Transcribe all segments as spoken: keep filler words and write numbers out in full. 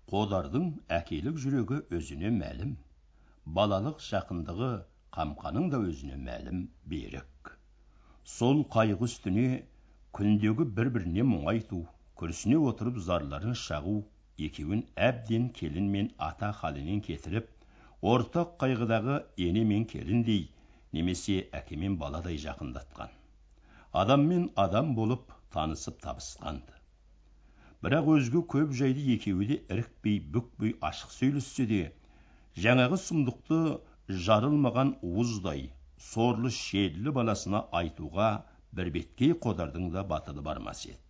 Қодардың әкелік жүрегі өзіне мәлім. Балалық жақындығы Қамқаның да өзіне мәлім берік. Сол қайғы үстіне күндегі бір-біріне мұңайту, күрсіне отырып зарларын шағу, екеуін әбден келін мен ата халінен кетіріп, ортақ қайғыдағы ене мен келіндей, немесе әке мен баладай жақындатқан. Адам мен адам болып танысып табысқанды. Бірақ өзге көп жайды екеуі де ірікпей, бүкпей ашық сөйлессе де, жаңағы сұмдықты жарылмаған уыздай, сорлы шерлі баласына айтуға бір беткей Қодардың да батылы бармас еді.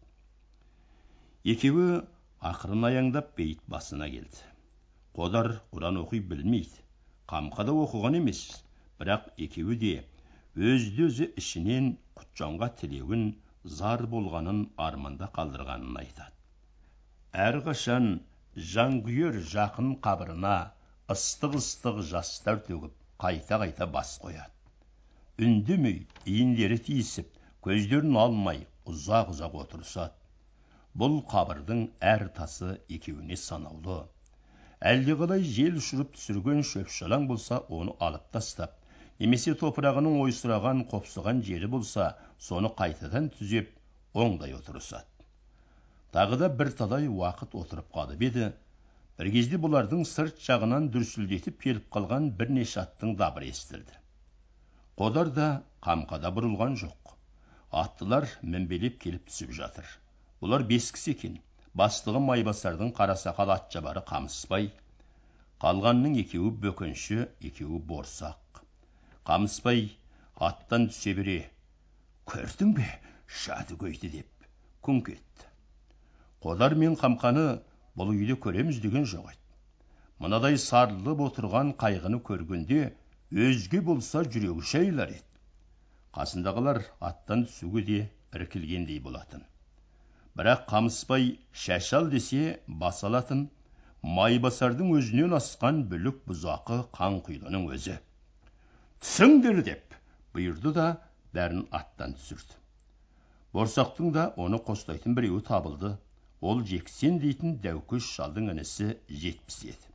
Екеуі ақырын аяңдап бейіт басына келді. Қодар Құран оқи білмейді, Қамқада оқыған емес, бірақ екеуі де өзді-өзі ішінен Құтжанға тілеуін, зар болғанын, арманда қалдырғанын айтады. Әрқашан жанкүйер жақын қабырына ыстық-ыстық жастар төгіп, қайта-қайта бас қояды. Үндемей, иіндері тиісіп, көздерін алмай, ұзақ-ұзақ отырысады. Бұл қабырдың әр тасы екеуіне санаулы. Әлдеқалай жел ұшырып түсірген шөп-шалаң болса, оны алып тастап, немесе топырағының ойсыраған, қопсыған жері болса, соны қайтадан түзеп, оңдай отырысады. Тағы да бір талай уақыт отырып қалып еді, бір кезде бұлардың сырт жағынан дүрсілдетіп келіп қалған бірнеше аттың дабыры естілді. Қодар да Қамқада бұрылған жоқ. Аттылар мінбелеп келіп түсіп жатыр. Бұлар бес кісі екен. Бастығы Майбасардың қарасақал атшабары Қамысбай, қалғанның екеуі бөкенші, екеуі борсақ. Қамысбай аттан түсе бере, көрдің бе, Шадыгөйді деп күңк етті. Қодар мен Қамқаны бұл үйде көреміз деген жоқ еді. Мынадай сарылып отырған қайғыны көргенде, өзге болса жүрегі шайылар еді. Қасындағылар аттан түсуге де іркілгендей болатын. Бірақ Қамысбай шашал десе бас алатын, Майбасардың өзінен асқан бүлік бұзақы Қанқұйлының өзі. Түсіңдер деп бұйырды да бәрін аттан түсірді. Борсақтың да оны қостайтын біреуі табылды. Ол Жексен дейтін дәукөш шалдың інісі Жетпіс еді.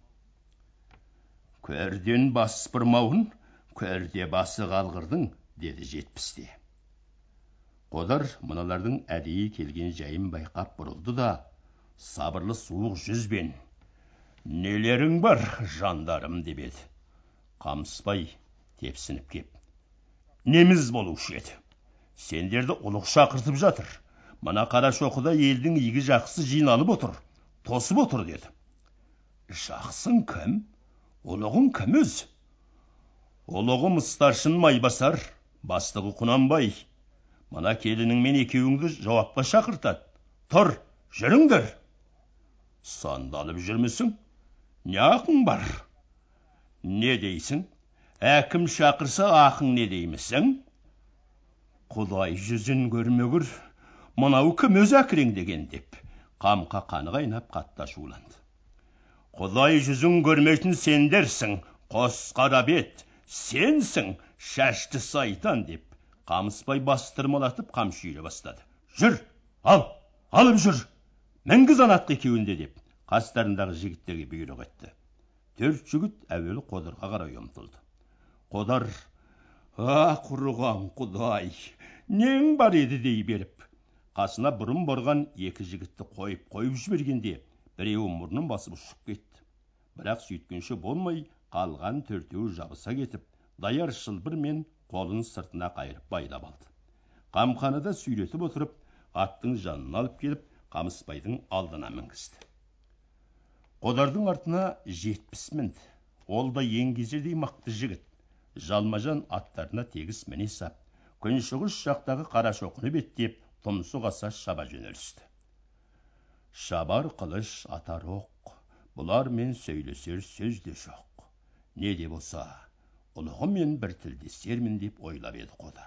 Көрден бас бұрмауын, көрде басы қалғырдың, деді Жетпіс те. Қодар мыналардың әдейі келген жайын байқап бұрылды да, сабырлы суық жүзбен, нелерің бар, жандарым, деп еді. Қамысбай тепсініп кеп, неміз болушы еді. Сендерді ұлық шақыртып жатыр. Мына Қарашоқыда елдің игі жақсы жиналып отыр, тосып отыр, деді. Жақсың кім? Ұлығың кім өз? Ұлығым старшын Майбасар, бастығы Құнанбай. Мына келінің мен екеуіңді жауапқа шақыртады. Тұр, жүріңдер. Сандалып жүрмісің? Не ақың бар? Не дейсің? Әкім шақырса ақың не деймісің? Құдай жүзін көрмегір, мынау кім өз әкірең деген деп, Қамқа қаны қайнап қатты ашуланды. Құдай жүзін көрмейтін сендерсің, қос қара бет, сенсің, шашты сайтан, деп, Қамысбай бастырмалатып қамшы үйре бастады. Жүр, ал, алып жүр, мінгіз анатқы екеуінде, деп, қастарындағы жігіттерге бұйрық етті. Төрт жігіт әуелі Қодарға қарай ұмтылды. Қодар, а құрыған Құдай, нең бар еді дей беріп, қасына бұрын борған екі жігітті қойып қойып жібергенде, біреуі мұрнын басып ұшып кетті. Бірақ сөйткенше болмай, қалған төртеуі жабыса кетіп, даяр шылбыр мен қолын сыртына қайырып байлап алды. Қамқаны да сүйретіп отырып, аттың жанына алып келіп, Қамысбайдың алдына мінгізді. Қодардың артына Жетпіс мінді. Ол да еңгезердей мықты жігіт. Жалмажан аттарына тегіс міне сап, күншығыс жақтағы Қарашоқыны беттеп, тұмсық аса шаба жөнелісті. Шабар қылыш атар оқ, бұлармен сөйлесер сөз де жоқ. Не де болса, ұлығымен бір тілдесермін деп ойлап еді Қодар.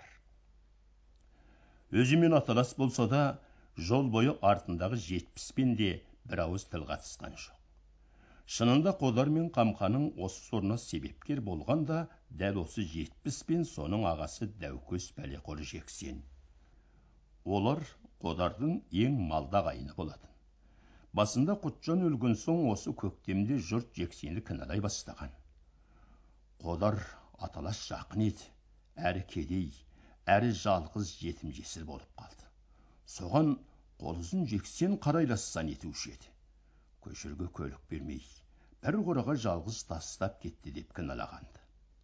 Өзімен аталас болса да, жол бойы артындағы Жетпіспен де бір ауыз тіл қатысқан жоқ. Шынында Қодар мен Қамқаның осы сорына себепкер болған да, дәл осы Жетпіс пен соның ағасы Дәукөс Пәлеқор Жексен. Олар Қодардың ең малда қайны болатын. Басында Құтжан өлген соң осы көктемде жұрт Жексенді кінәлай бастаған. Қодар аталас жақын еді, әрі кедей, әрі жалғыз жетім жесір болып қалды. Соған қолызын Жексен қарайлассан етуші еді. Көшірге көлік бермей, бір қораға жалғыз тастап кетті деп кінәлағанды.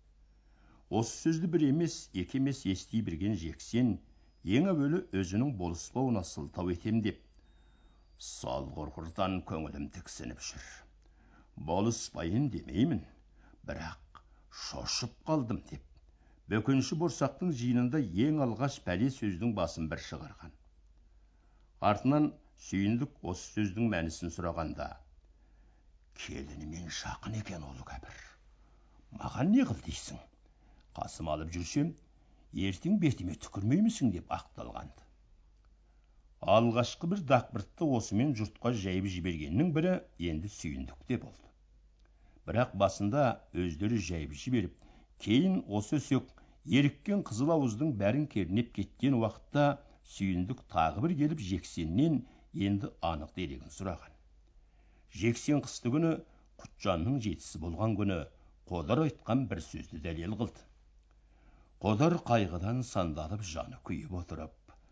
Осы сөзді бір емес, екі емес ести берген Жексен, ең әуелі өзінің болыспауына сылтау етем деп, сол құрғырдан көңілім тіксініп жүр. Болыспайын демеймін, бірақ шошып қалдым деп, бөкенші борсақтың жиынында ең алғаш пәле сөздің басын бір шығарған. Артынан Сүйіндік осы сөздің мәнісін сұрағанда, келінімен жақын екен ол кәпір. Маған не қыл дейсің? Қасым алып жүрсем, ертең бетіме түкірмеймісің деп ақталғанды. Алғашқы бір дақбыртты осымен жұртқа жайып жібергеннің бірі енді Сүйіндікте болды. Бірақ басында өздері жайып жіберіп, кейін осы өсек еріккен қызыл ауыздың бәрін кернеп кеткен уақытта Сүйіндік тағы бір келіп Жексеннен енді анық дерегін сұраған. Жексен қысты күні Құтжанның жетісі болған күні Қодар айтқан бір сөзді дәлел қылды. Қодар қайғыдан сандалып жаны күйіп отырып,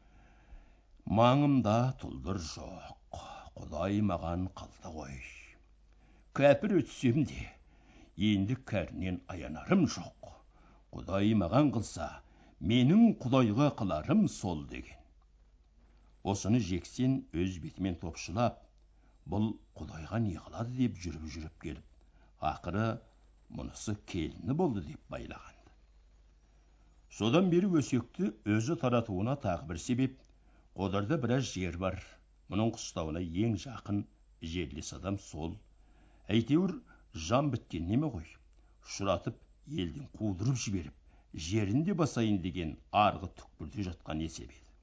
маңымда тұлдыр жоқ, Құдай маған қалды ғой. Кәпір өтсем де, енді кәрінен аянарым жоқ. Құдай маған қылса, менің Құдайға қыларым сол деген. Осыны Жексен өз бетімен топшылап, бұл Құдайға не қылады деп жүріп-жүріп келіп, ақыры мұнысы келіні болды деп байлағанды. Содан бері өсекті өзі таратуына тағы бір себеп, Қодарда біраз жер бар. Мұның қыстауына ең жақын жерлес адам сол. Әйтеуір жан біткен неме ғой. Шыратып, елден қудырып жіберіп, жерінде басайын деген арғы түкпірде жатқан есеп еді.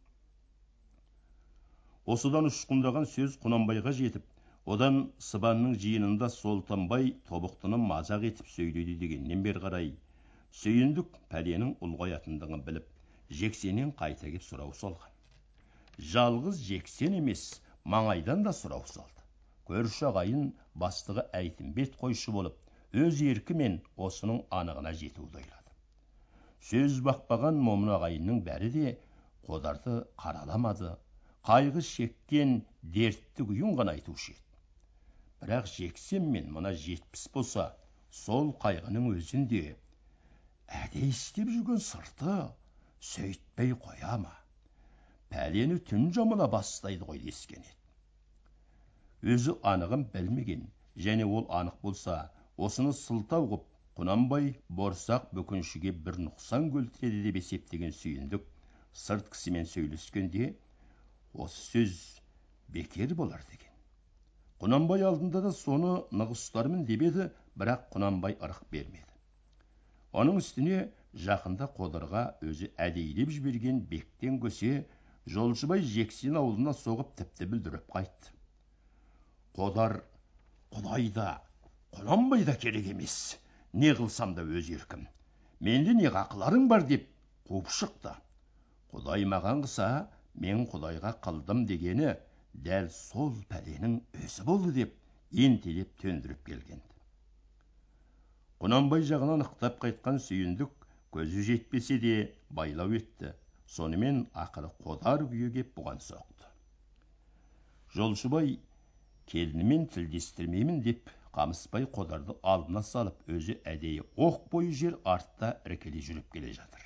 Осыдан ұшқындаған сөз Құнанбайға жетіп, одан Сыбанның жиынында Солтанбай тобықтыны мазақ етіп сөйледі дегеннен бер қарай, Сүйіндік пәленің ұлғаятындығын біліп, Жексеннен қайта кеп сұрау салған. Жалғыз Жексен емес, маңайдан да сұрау салды. Көрші ағайын бастығы Әйтімбет қойшы болып, өз еркімен осының анығына жетуді ойлады. Сөз бақпаған момын ағайынның бәрі де Қодарды қараламады, қайғы шеккен дертті күйін ғана айтушы еді. Бірақ Жексен мен мына жетпіс болса, сол қайғының өзінде әдей істеп жүрген сырты сөйтпей қоя ма? Пәлені түн жамыла бастайды ғой дескен еді. Өзі анығын білмеген, және ол анық болса, осыны сылтау қып, Құнанбай борсақ бөкеншіге бір нұқсан келтіреді деп есептеген Сүйіндік сырт кісімен сөйлескенде, осы сөз бекер болар деген. Құнанбай алдында да соны нығыстармын деп еді, бірақ Құнанбай ырық бермеді. Оның үстіне жақында Қодарға өзі әдейілеп жіберген бектен көсе, Жолшыбай Жексен ауылына соғып тіпті бүлдіріп қайтты. Қодар, Құдайда, Құнанбайда керек емес, не қылсам да өз еркім, менде не қақыларың бар деп қуып шықты. Құдай маған қыса, мен Құдайға қылдым дегені дәл сол пәленің өзі болды деп ентелеп төндіріп келгенді. Құнанбай жағынан ықтап қайтқан Сүйіндік көзі жетпесе де байлау етті. Сонымен ақыры Қодар күйі кеп бұған соқты. Жолшыбай келінімен тілдестірмеймін деп Қамысбай Қодарды алдына салып, өзі әдейі оқ бойы жер артта іркеле жүріп келе жатыр.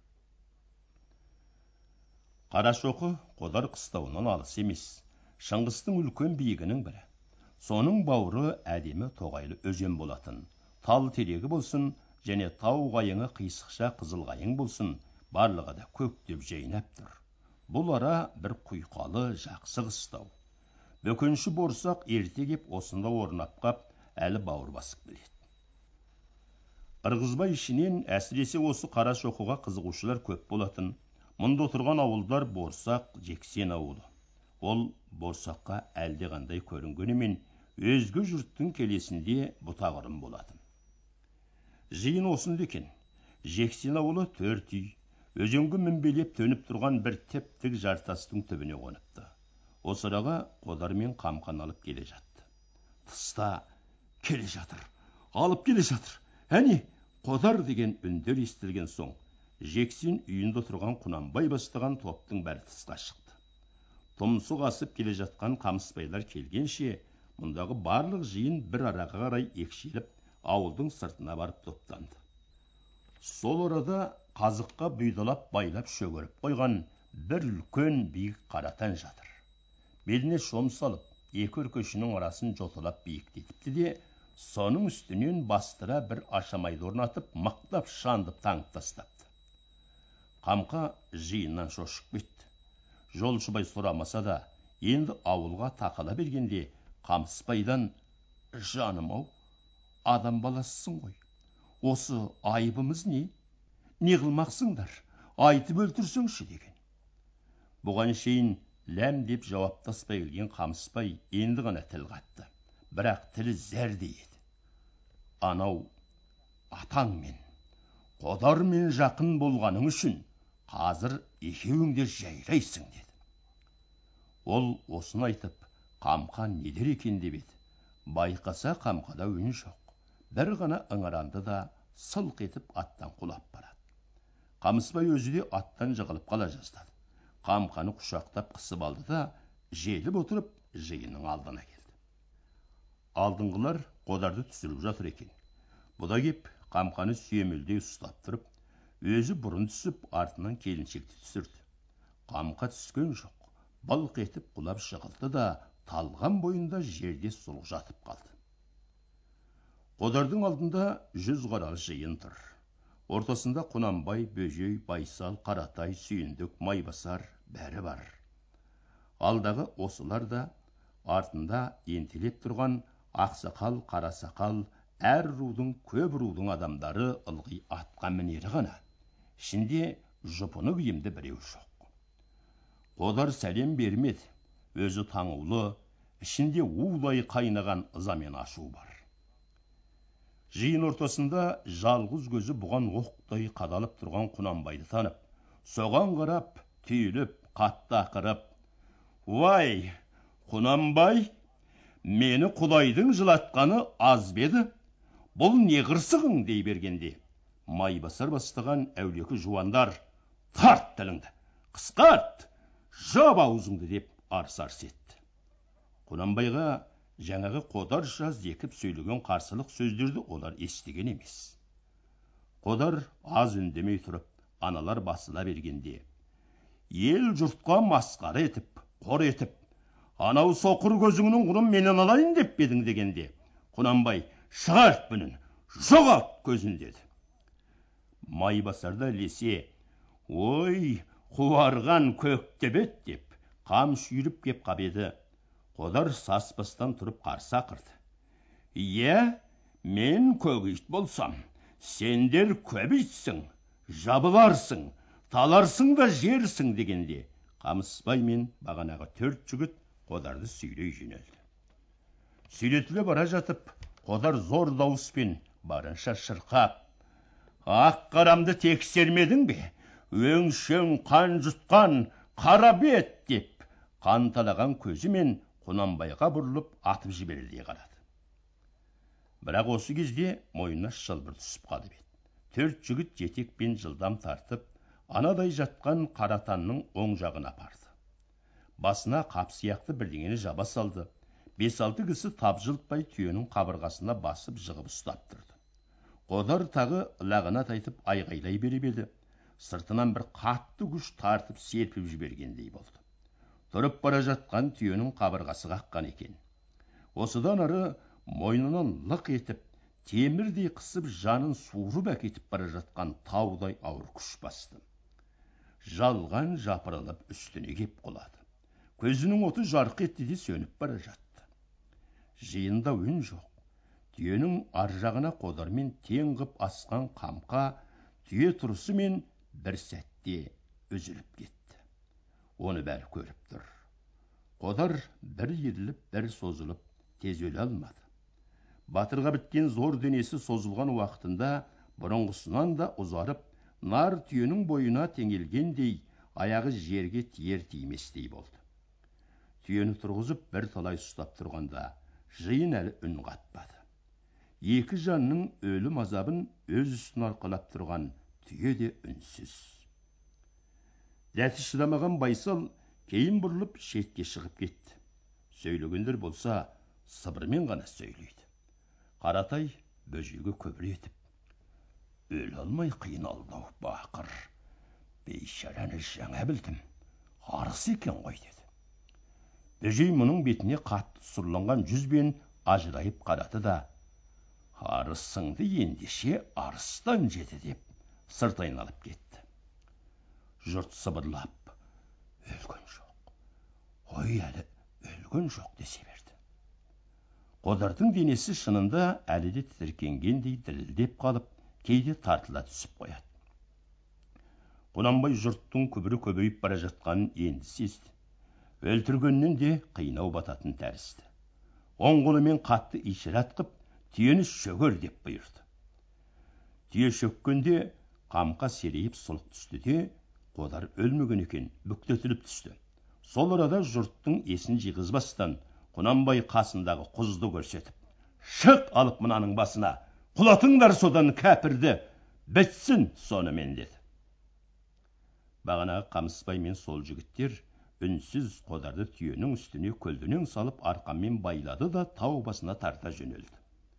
Қарашоқы Қодар қыстауынан алыс емес, Шыңғыстың үлкен биігінің бірі. Соның бауыры әдемі тоғайлы өзен болатын. Тал терегі болсын, және тау қайыңы қисықша қызыл қайың болсын, барлығы да көктеп жайнап тұр. Бұл ара бір құйқалы жақсы қыстау. Бөкенші борсақ ерте кеп осында орнап қап, әлі бауыр басып келеді. Ырғызбай ішінен әсіресе осы Қарашоқыға қызығушылар көп болатын. Мұнда отырған ауылдар Борсақ, Жексен ауылы. Ол Борсаққа әлде қандай көрінгенімен, өзге жұрттың келесінде бұтағырым болатын. Жиын осында екен. Жексен ауылы төрт үй, өзенге мінбелеп төніп тұрған бір теп-тік жартастың түбіне қоныпты. Осы араға Қодар мен Қамқан алып келе жатты. Тыста келе жатыр, алып келе жатыр. Әне, Қодар деген үндер естілген соң, Жексен үйінде тұрған Құнанбай бастаған топтың бәрі тысқа шықты. Тұмсық асып келе жатқан қамысбайлар келгенше, мұндағы барлық жиын бір араға қарай екшеліп, ауылдың сыртына барып топтанды. Сол орада қазыққа бұйдалап байлап шөгеріп қойған бір үлкен биік қаратан жатыр. Беліне шом салып, екі өркешінің арасын жоталап биіктетіпті де, соның үстінен бастыра бір ашамайды орнатып, мақтап шандып таңып тастапты. Қамқа жиыннан шошып кетті. Жолшыбай сұрамаса да, енді ауылға тақала бергенде Қамысбайдан: «Жаным-ау, адам баласысың ғой. Осы айыбымыз не? Не қылмақсыңдар? Айтып өлтірсеңші» деген. Бұған шейін ләм деп жауаптаспай келген Қамысбай енді ғана тіл қатты. Бірақ тілі зәрдей еді. «Анау атаңмен, Қодармен жақын болғаның үшін қазір екеуің де жайрайсың» деді. Ол осыны айтып, Қамқа не дер екен деп еді. Байқаса Қамқада үн жоқ. Бір ғана ыңыранды да сылқ етіп аттан құлап барады. Қамысбай өзі де аттан жығылып қала жаздады. Қамқаны құшақтап қысып алды да, желіп отырып жиынның алдына келді. Алдыңғылар Қодарды түсіріп жатыр екен. Бұда кеп Қамқаны сүйемелдей ұстап тұрып, өзі бұрын түсіп, артынан келіншекті түсірді. Қамқа түскен жоқ. Былқ етіп құлап жығылды да, талған бойында жерде сұлық жатып қалды. Қодардың алдында жүз қаралы жиын тұр. Ортасында Құнанбай, Бөжей, Байсал, Қаратай, Сүйіндік, Майбасар бәрі бар. Алдағы осылар да, артында ентелеп тұрған ақсақал, қарасақал, әр рудың, көп рудың адамдары ылғи атқа мінері ғана. Ішінде жұпыны киімді біреу жоқ. Қодар сәлем бермеді. Өзі таңулы, ішінде улай қайнаған ыза мен ашу бар. Жиын ортасында жалғыз көзі бұған оқтай қадалып тұрған Құнанбайды танып, соған қарап, түйіліп, қатты ақырып: «Уай, Құнанбай, мені Құдайдың жылатқаны аз беді? Бұл не қырсығың?» дей бергенде, Майбасар бастаған әулекі жуандар: «Тарт тіліңді, қысқарт, жап аузыңды» деп арс-арс етті. Құнанбайға жаңағы Қодарша зекіп сөйлеген қарсылық сөздерді олар естіген емес. Қодар аз үндемей тұрып, аналар басыла бергенде: «Ел жұртқа масқара етіп, қор етіп, анау соқыр көзіңнің құнын менен алайын деп бедің» дегенде, Құнанбай: «Шығарт бұнын, жоғалт көзін» деді. Майбасарда лесе: «Ой, қуарған көктебет» деп қам шүйіріп кеп қабеді. Қодар саспастан тұрып қарсы ақырды: «Иә, мен көгейт болсам, сендер көбейтсің, жабыларсың, таларсың да жерсің» дегенде, Қамысбай мен бағанағы төрт жігіт Қодарды сүйрей жөнелді. Сүйретіле бара жатып, Қодар зор дауыспен барынша шырқап: «Ақ қарамды тексермедің бе? Өңшең қан жұтқан қара бет» деп қанталаған көзімен Құнанбайға бұрылып атып жіберердей қарады. Бірақ осы кезде мойнына шылбыр түсіп қалып еді. Төрт жігіт жетекпен жылдам тартып, анадай жатқан Қаратанның оң жағына апарды. Басына қап сияқты бірдеңені жаба салды. Бес-алты кісі тапжылтпай түйенің қабырғасына басып жығып ұстап тұрды. Қодар тағы лағынат айтып айғайлай беріп еді. Сыртынан бір қатты күш тартып серпіп жібергендей болды. Тұрып бара жатқан түйенің қабырғасы қаққан екен. Осыдан ары мойнынан лық етіп, темірдей қысып жанын суырып әкетіп бара жатқан таудай ауыр күш басты. Жалған жапырылып үстіне кеп құлады. Көзінің оты жарқ етті де сөніп бара жатты. Жиында үн жоқ. Түйенің ар жағына Қодармен тең қып асқан Қамқа түйе тұрысымен бір сәтте үзіліп кетті. Оны бәрі көріп тұр. Қодар бір еріліп, бір созылып, тез өле алмады. Батырға біткен зор денесі созылған уақытында бұрынғысынан да ұзарып, нар түйенің бойына теңелгендей, аяғы жерге тиер тиместей болды. Түйені тұрғызып бір талай ұстап тұрғанда, жиын әлі үн қатпады. Екі жанның өлім азабын өз үстін арқалап тұрған түйе де үнсіз. Дәті шыдамаған Байсал кейін бұрылып шетке шығып кетті. Сөйлегендер болса, сыбырмен ғана сөйлейді. Қаратай бөжейге көбір етіп: өле алмай қиналды-ау бақыр. Бейшараны жаңа білдім, арыс екен ғой деді. Бөжей мұның бетіне қатты сұрланған жүзбен ажырайып қарады да: арысыңды ендеше арыстан жеді деп сырт айналып кетті. Жұрт сыбырлап: өлген жоқ, ой әлі өлген жоқ десе берді. Қодардың денесі шынында әлі де тітіркенгендей дірілдеп қалып, кейде тартыла түсіп қояды. Құнанбай жұрттың күбірі көбейіп бара жатқанын енді сезді. Өлтіргеннен де қинау бататын тәрізді. Оң қолымен қатты ишарат қып, түйені шөгер деп бұйырды. Түйе шөккенде қамқа серейіп сұлық түсті де, Қодар өлмеген екен, бүктетіліп түсті. Сол арада жұрттың есін жиғызбастан Құнанбай қасындағы құзды көрсетіп: шық алып мынаның басына, құлатыңдар содан кәпірді, бітсін сонымен деді. Бағанағы Қамысбай мен сол жігіттер үнсіз Қодарды түйенің үстіне көлденең салып арқанмен байлады да тау басына тарта жөнелді.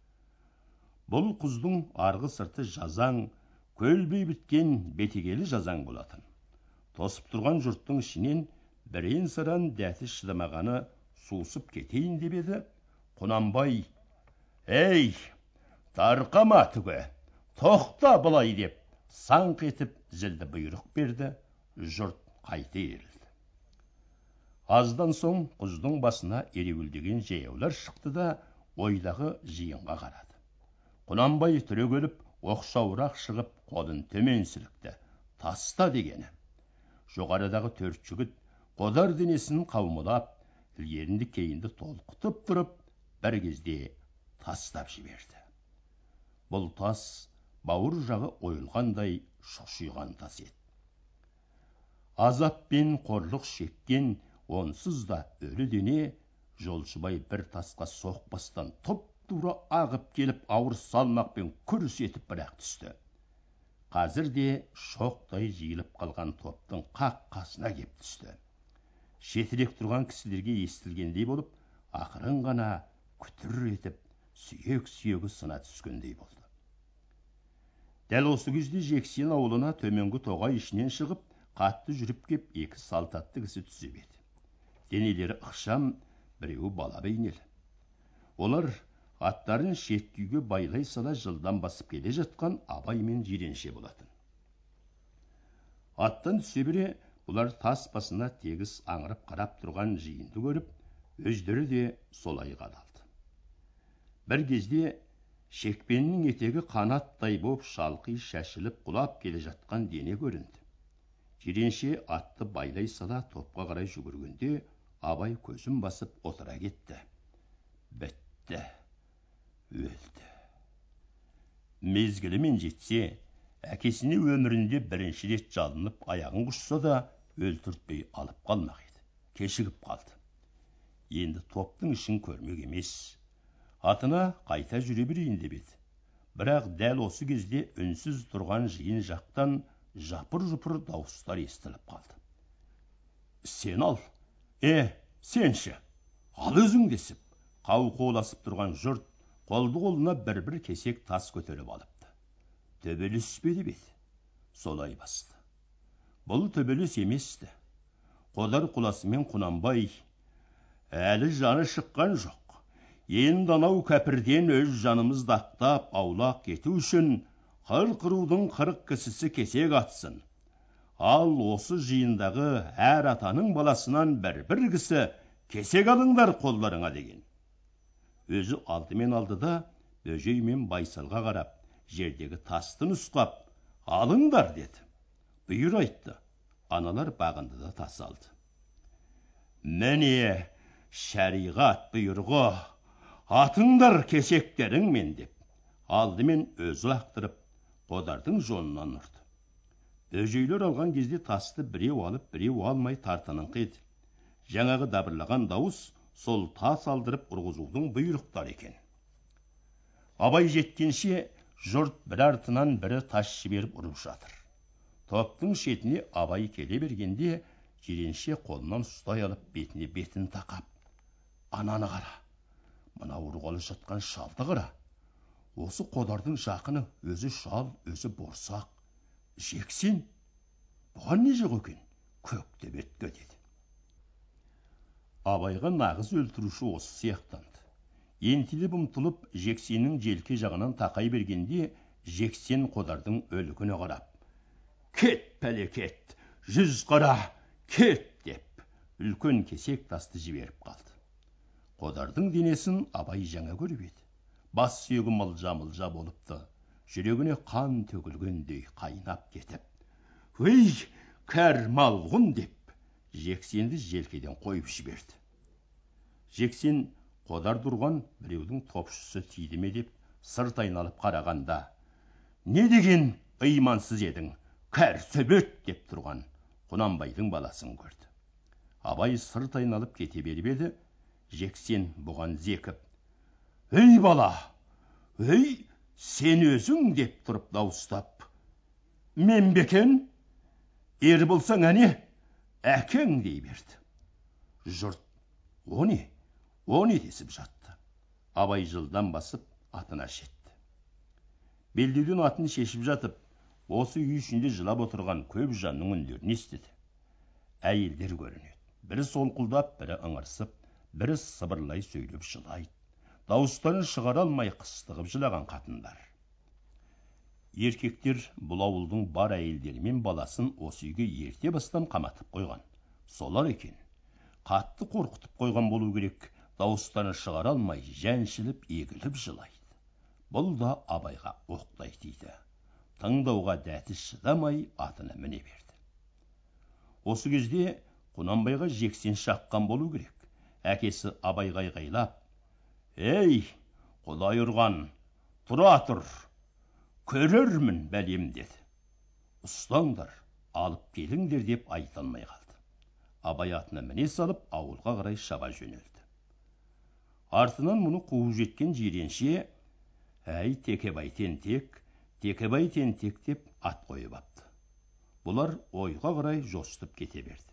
Бұл құздың арғы сырты жазаң, көлбей біткен бетегелі жазаң болатын. Тосып тұрған жұрттың ішінен бірен саран дәті шыдамағаны сусып кетейін деп еді, Құнанбай: ей, тарқама түге, тоқта былай деп саңқ етіп зілді бұйрық берді. Жұрт қайта ерілді. Аздан соң құздың басына ереуілдеген жаяулар шықты да ойдағы жиынға қарады. Құнанбай түрегеліп, оқшауырақ шығып, қолын төмен сілікті: таста дегені. Жоғарыдағы төрт жігіт Қодар денесін қаумалап, ілгерінді кейінді толқытып тұрып, бір кезде тастап жіберді. Бұл тас бауыр жағы ойылғандай шұқшиған тас еді. Азап пен қорлық шеккен онсыз да өлі дене Жолшыбай бір тасқа соқпастан тұп-тура ағып келіп, ауыр салмақпен күрс етіп бірақ түсті. Қазір де шоқтай жиылып қалған топтың қақ қасына кеп түсті. Шетірек тұрған кісілерге естілгендей болып, ақырын ғана күтір етіп, сүйек-сүйегі сына түскендей болды. Дәл осы кезде Жексен ауылына төменгі тоғай ішінен шығып, қатты жүріп кеп, екі салтатты кісі түсіп еді. Денелері ықшам, біреуі бала бейнелі. Олар аттарын шеткүйге байлай сала жылдан басып келе жатқан Абай мен Жиренше болатын. Аттан түсе бере, бұлар тас басына тегіс аңырып қарап тұрған жиынды көріп, өздері де солай қадалды. Бір кезде шекпеннің етегі қанаттай боп шалқи шашылып құлап келе жатқан дене көрінді. Жиренше атты байлай сала топқа қарай жүгіргенде, Абай көзін басып отыра кетті. Бітті, өлді. Мезгілімен жетсе, әкесіне өмірінде бірінші рет жалынып аяғын құшса да, өлтіртпей алып қалмақ еді. Кешігіп қалды. Енді топтың ішін көрмек емес. Атына қайта жүре берейін деп еді. Бірақ дәл осы кезде үнсіз тұрған жиын жақтан жапыр-жұпыр дауыстар естіліп қалды. Сен ал, е, сенші, ал өзің десіп, қау-қоласып тұрған жұрт қолды қолына бір-бір кесек тас көтеріп алыпты. Төбелес пе деп еді. Солай басты. Бұл төбелес еместі. Қодар құласымен Құнанбай: әлі жаны шыққан жоқ. Енді анау кәпірден өз жанымызды ақтап аулақ кету үшін қырық рудың қырық кісісі кесек атсын. Ал осы жиындағы әр атаның баласынан бір-бір кісі кесек алыңдар қолдарыңа деген. Өзі алдымен алды да, Бөжей мен Байсалға қарап, жердегі тасты нұсқап, алыңдар деді. Бұйыр айтты. Аналар бағынды да тас алды. Міне, шариғат бұйырғы, атыңдар кесектеріңмен деп, алдымен өзі лақтырып, Қодардың жонынан ұрды. Бөжейлер алған кезде тасты біреу алып, біреу алмай тартыныңқы еді. жаңағы дабырлаған дауыс сол тас алдырып ұрғызудың бұйрықтары екен. Абай жеткенше жұрт бір артынан бірі тас жіберіп ұрып жатыр. Топтың шетіне Абай келе бергенде жиренше қолынан ұстай алып бетіне бетін тақап: "Ананы қара, мына ұрғалы жатқан шалды қара. Осы Қодардың жақыны, өзі шал, өзі борсақ. Жексен, бұған не жоқ екен? Көкте бетке" деді. Абайға нағыз өлтіруші осы сияқтанды. Ентелеп ұмтылып, Жексеннің желке жағынан тақай бергенде, Жексен Қодардың өлігіне қарап: "Кет, пәле, кет! Жүз қара, кет!" деп, үлкен кесек тасты жіберіп қалды. Қодардың денесін Абай жаңа көріп еді. Бас сүйегі мылжа-мылжа болыпты. Жүрегіне қан төгілгендей қайнап кетіп: "Өй, кәр малғұн!" деп, Жексенді желкеден қойып жіберді. Жексен Қодар тұрған біреудің топшысы тиді ме деп сырт айналып қарағанда: "Не деген ыймансыз едің, кәр сөбет!" деп тұрған Құнанбайдың баласын көрді. Абай сырт айналып кете беріп еді, Жексен бұған зекіп: "Ей бала, ей, сен өзің!" деп тұрып дауыстап: "Мен бекен, ер болсаң әне, әкең!" дей берді. Жұрт: "О не, о не?" десіп жатты. Абай жылдан басып атына жетті. Белдеуден атын шешіп жатып, осы үй ішінде жылап отырған көп жанның үндерін естіді. Әйелдер көрінеді. Бірі солқылдап, бірі ыңырсып, бірі сыбырлай сөйлеп жылайды. Дауыстарын шығара алмай қыстығып жылаған қатындар. Еркектер бұл ауылдың бар әйелдері мен баласын осы үйге ерте бастан қаматып қойған. Солар екен. Қатты қорқытып қойған болу керек. Дауыстарын шығара алмай, жәншіліп, егіліп жылайды. Бұл да Абайға оқтай тиді. Тыңдауға дәті шыдамай атына міне берді. Осы кезде Құнанбайға Жексен шаққан болу керек. Әкесі Абайға айғайлап: "Ей, Құдай ұрған, тұра тұр, көрермін бәлем" деді. "Ұстаңдар, алып келіңдер" деп айта алмай қалды. Абай атына міне салып, ауылға қарай шаба жөнелді. Артынан мұны қуып жеткен жиренше: "Әй, Текебай тентек, Текебай тентек" деп ат қойып апты. Бұлар ойға қарай жосытып кете берді.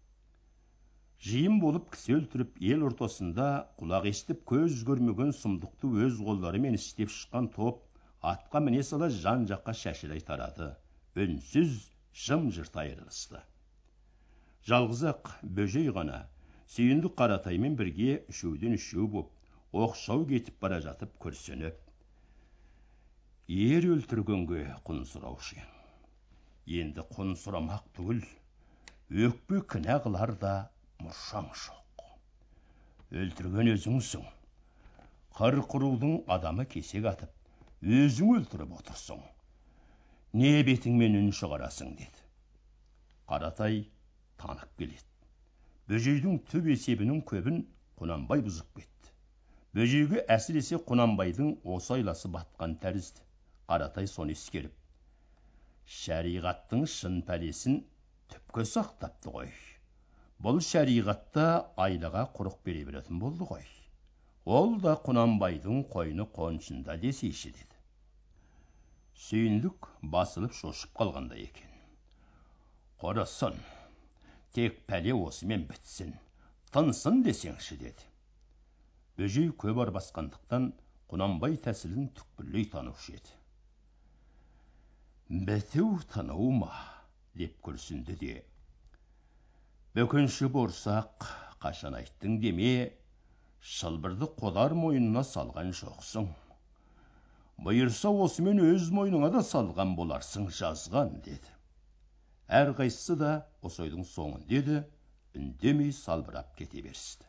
Жиын болып кісі өлтіріп, ел ортасында құлақ естіп, көз көрмеген сұмдықты өз қолдарымен істеп шыққан топ атқа міне сала жан жаққа шашырай тарады. Үнсіз, жым-жырт айырылысты. Жалғыз ақ Бөжей ғана Сүйіндік Қаратаймен бірге үшеуден үшеу боп, оқшау кетіп бара жатып күрсініп: "Ер өлтіргенге құн сұраушы ең. Енді құн сұрамақ түгіл, өкпе кінә қылар да мұршаң жоқ. Өлтірген өзіңсің. Қырық рудың адамы кесек атып, өзің өлтіріп отырсың. Не бетіңмен үн шығарасың" деді. Қаратай танып келеді. Бөжейдің түп есебінің көбін Құнанбай бұзып кетті. Бөжейге әсіресе Құнанбайдың осы айласы батқан тәрізді. Қаратай соны ескеріп: "Шариғаттың шын пәлесін түпке сақтапты ғой. Бұл шариғатта айлаға құрық бере беретін болды ғой. Ол да Құнанбайдың қойны қоншында десейші" деді. Сүйіндік басылып шошып қалғанда екен. "Құрысын, тек пәле осымен бітсін, тынсын десеңші" деді. Бөжей көп арбасқандықтан Құнанбай тәсілін түкпірлей танушы еді. "Біту тыну ма?" деп күрсінді де: "Бөкенші борсақ, қашан айттың деме, шылбырды Қодар мойнына салған жоқсың. Бұйырса осымен өз мойныңа да салған боларсың жазған" деді. Әрқайсысы да осы ойдың соңын деді, үндемей салбырап кете берісті.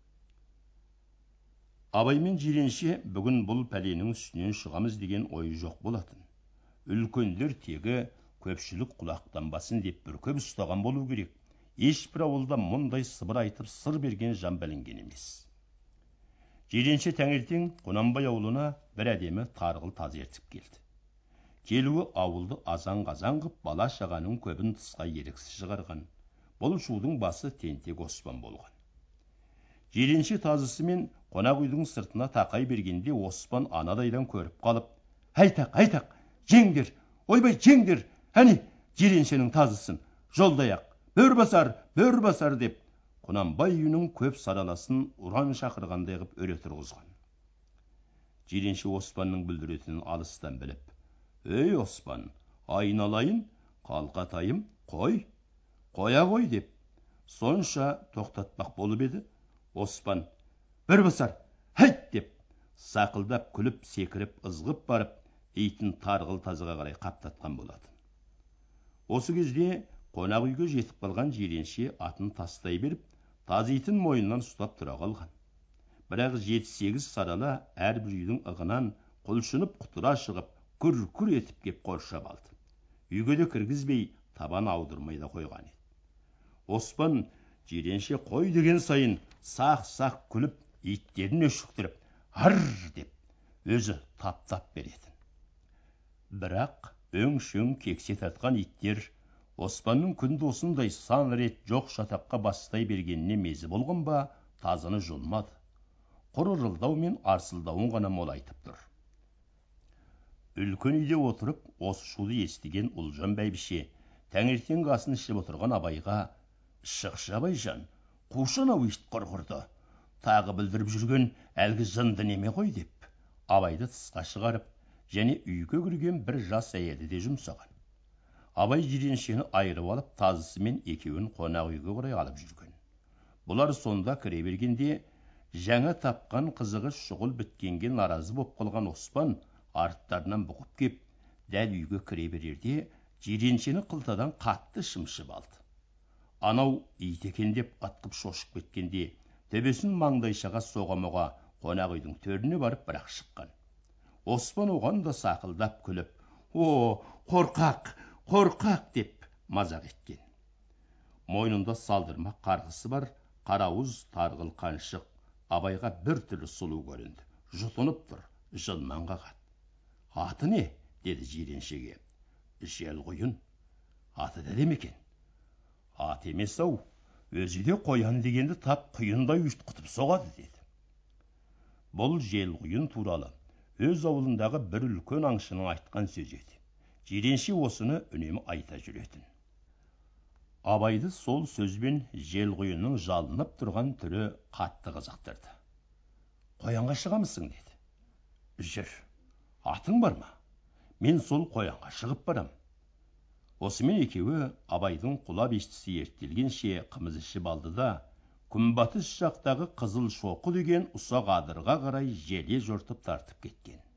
Абай мен жиренше бүгін бұл пәленің үстінен шығамыз деген ой жоқ болатын. Үлкендер тегі көпшілік құлақтанбасын деп бүркеп ұстаған болу керек. Ешбір ауылда мұндай сыбыр айтып сыр берген жан білінген емес. Жиренше таңертең Құнанбай ауылына бір әдемі тарғыл таз ертіп келді. Келуі ауылды азан-қазан қып, бала шағаның көбін тысқа еріксіз шығарған. Бұл шудың басы тентек Оспан болған. Жиренше тазысы мен қонақ үйдің сыртына тақай бергенде Оспан анадайдан көріп қалып, «Айтақ, айтақ, жеңдер, ойбай жеңдер, әне, Жиреншенің тазысын, жолдаяқ, бөр басар, бөр басар» деп, Құнанбай үйінің көп сараласын ұран шақырғандай қып өре тұрғызған. Жиренше Оспанның бүлдіретінін алыстан біліп, «Ей Оспан, айналайын, қалқатайым, қой, қоя қой» деп, сонша тоқтатпақ болып еді, Оспан, «Бір басар, хайт» деп, сақылдап күліп, секіріп, ызғып барып, итін тарғыл тазыға қарай қаптатқан болатын. Осы кезде қонақ үйге жетіп қалған Жиренше атын тастай беріп, таз итін мойнынан ұстап тұра қалған. Бірақ жеті-сегіз сарала әрбір үйдің ығынан құлшынып құтыра шығып, күр-күр етіп кеп қоршап алды. Үйге де кіргізбей, табан аудырмай да қойған еді. Оспан Жиренше қой деген сайын сақ-сақ күліп, иттерін өшіктіріп, «Ар» деп, өзі таптап беретін. Бірақ өң-шөң кексе тартқан иттер Оспанның күнді осындай сан рет жоқ шатаққа бастай бергеніне мезі болған ба, тазыны жұлмады. Құр ырылдау мен арсылдауын ғана молайтып тұр. Үлкен үйде отырып, осы шуды естіген Ұлжан бәйбіше таңертеңгі асын ішіп отырған Абайға, «Шықшы Абайжан, қушан-ау ит құрғырды, тағы білдіріп жүрген әлгі жынды неме ғой» деп, Абайды тысқа шығарып, және үйге кірген бір жас әйелді де жұмсаған. Абай Жиреншені айырып алып, тазысымен екеуін қонақ үйге қарай алып жүрген. Бұлар сонда кіре бергенде, жаңа тапқан қызығы шұғыл біткенге наразы боп қалған Оспан арттарынан бұқып кеп, дәл үйге кіре берерде, Жиреншені қылтадан қатты шымшып алды. Анау ит екен деп атқып шошып кеткенде, төбесін маңдайшаға соға-моға қонақ үйдің төріне барып бірақ шыққан. Оспан оған да сақылдап күліп, «О, қорқақ, қорқақ» деп мазақ еткен. Мойнында салдырмақ қарғысы бар, қарауыз тарғыл қаншық Абайға бір түрлі сұлу көрінді. Жұтынып тұр, жылман қағады. «Аты не?» деді Жиреншеге. «Желқұйын». «Аты да демекен?» «Ат емес-ау, өзі де қоян дегенді тап құйындай ұйтқытып соғады» деді. Бұл Желқұйын туралы өз ауылындағы бір үлкен аңшының айтқан сөз еді. Жиренше осыны үнемі айта жүретін. Абайды сол сөзбен Желқұйынның жалынып тұрған түрі қатты қызықтырды. «Қоянға шығамысың?» деді. «Жүр, атың бар ма? Мен сол қоянға шығып барам». Осымен екеуі Абайдың құла бестісі ертелгенше қымыз ішіп алды да, күнбатыс жақтағы Қызыл Шоқы деген ұсақ адырға қарай желе жортып тартып кеткен.